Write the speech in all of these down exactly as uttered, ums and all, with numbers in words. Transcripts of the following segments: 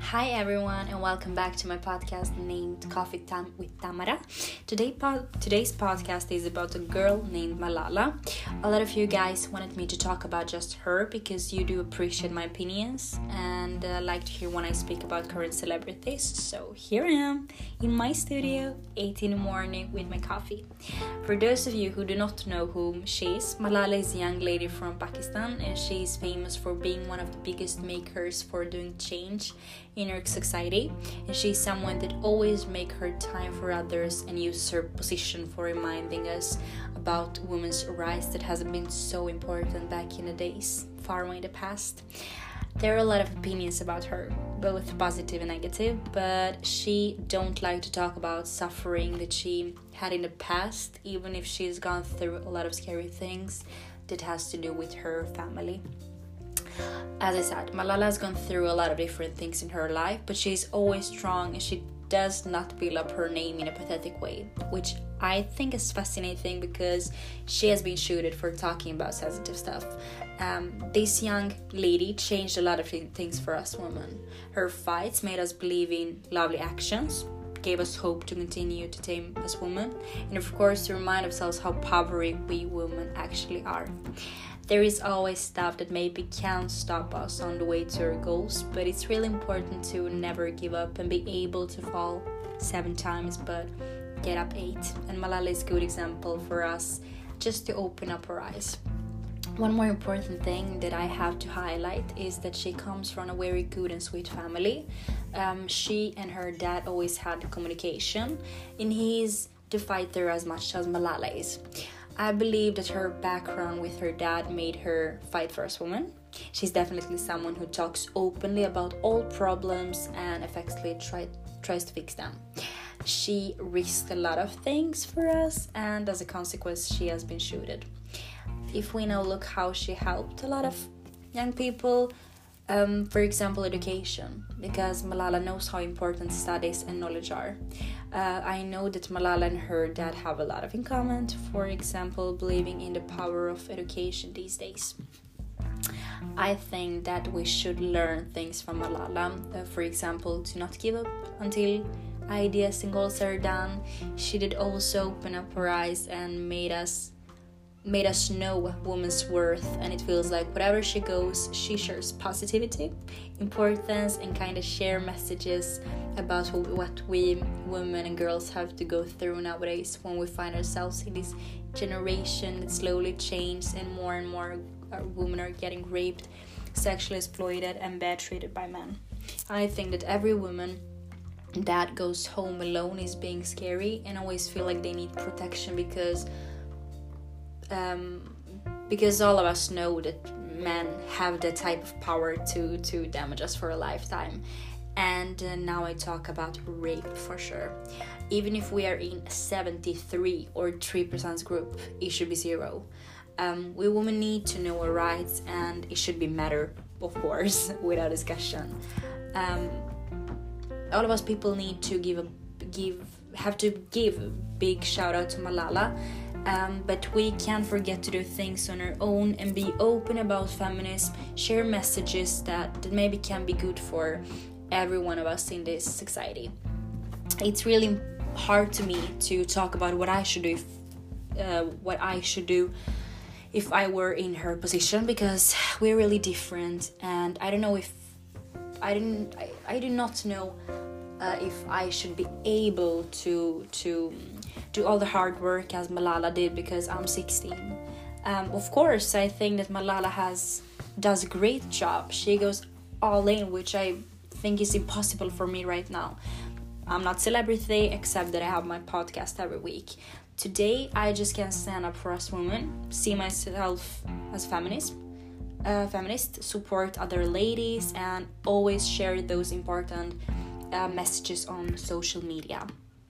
Hi everyone, and welcome back to my podcast named Coffee Time with Tamara. Today, po- today's podcast is about a girl named Malala. A lot of you guys wanted me to talk about just her because you do appreciate my opinions and uh, like to hear when I speak about current celebrities. So here I am in my studio, eight in the morning with my coffee. For those of you who do not know whom she is, Malala is a young lady from Pakistan, and she is famous for being one of the biggest makers for doing change in her society, and she's someone that always make her time for others and use her position for reminding us about women's rights that hasn't been so important back in the days, far away in the past. There are a lot of opinions about her, both positive and negative, but she don't like to talk about suffering that she had in the past, even if she's gone through a lot of scary things that has to do with her family. As I said, Malala has gone through a lot of different things in her life, but she's always strong and she does not build up her name in a pathetic way, which I think is fascinating because she has been shooted for talking about sensitive stuff. Um, this young lady changed a lot of things for us women. Her fights made us believe in lovely actions, gave us hope to continue to tame as women, and of course to remind ourselves how powerful we women actually are. There is always stuff that maybe can stop us on the way to our goals, but it's really important to never give up and be able to fall seven times but get up eight. And Malala is a good example for us just to open up our eyes. One more important thing that I have to highlight is that she comes from a very good and sweet family. Um, she and her dad always had communication, and he's the fighter as much as Malala is. I believe that her background with her dad made her fight for us women. She's definitely someone who talks openly about all problems and effectively try, tries to fix them. She risked a lot of things for us, and as a consequence, she has been shooted. If we now look how she helped a lot of young people, um, for example, education, because Malala knows how important studies and knowledge are. Uh, I know that Malala and her dad have a lot of in common, for example, believing in the power of education these days. I think that we should learn things from Malala, uh, for example, to not give up until ideas and goals are done. She did also open up her eyes and made us made us know women's worth, and it feels like wherever she goes, she shares positivity, importance, and kind of share messages about what we women and girls have to go through nowadays when we find ourselves in this generation that slowly changes and more and more women are getting raped, sexually exploited, and bad treated by men. I think that every woman that goes home alone is being scary and always feel like they need protection because Um, because all of us know that men have that type of power to, to damage us for a lifetime. And uh, now I talk about rape for sure. Even if we are in seventy-three or three percent group, it should be zero. Um, we women need to know our rights, and it should be matter, of course, without discussion. Um, all of us people need to give a give have to give a big shout out to Malala. Um, but we can't forget to do things on our own and be open about feminism, share messages that, that maybe can be good for every one of us in this society. It's really hard to me to talk about what I should do if, uh, what I should do if I were in her position, because we're really different, and I don't know if I didn't I, I do not know uh, if I should be able to to do all the hard work as Malala did because I'm sixteen. Um, of course, I think that Malala has does a great job. She goes all in, which I think is impossible for me right now. I'm not celebrity, except that I have my podcast every week. Today, I just can stand up for us women, see myself as feminist, uh, feminist, support other ladies, and always share those important uh, messages on social media.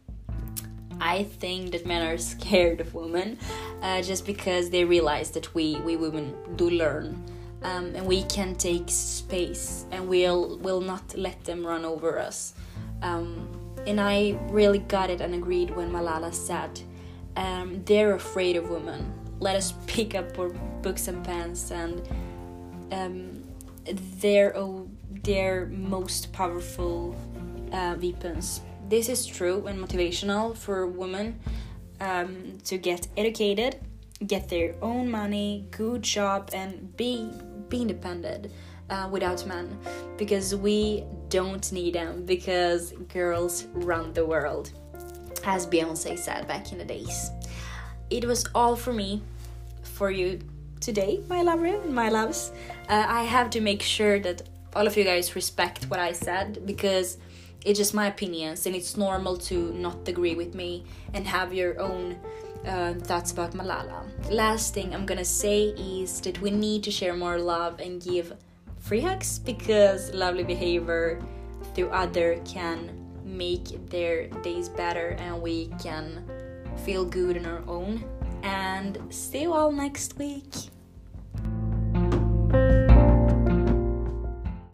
I think that men are scared of women uh, just because they realize that we, we women do learn, um, and we can take space, and we'll will not let them run over us. Um, and I really got it and agreed when Malala said, um, they're afraid of women. Let us pick up our books and pens and um, they're oh, their most powerful uh, weapons. This is true and motivational for women um, to get educated, get their own money, good job, and be be independent uh, without men, because we don't need them, because girls run the world, as Beyonce said back in the days. It was all for me, for you today, my lover, my loves. Uh, I have to make sure that all of you guys respect what I said, because it's just my opinions, and it's normal to not agree with me and have your own uh, thoughts about Malala. Last thing I'm gonna say is that we need to share more love and give free hugs, because lovely behavior through other can make their days better, and we can feel good in our own. And see you all next week.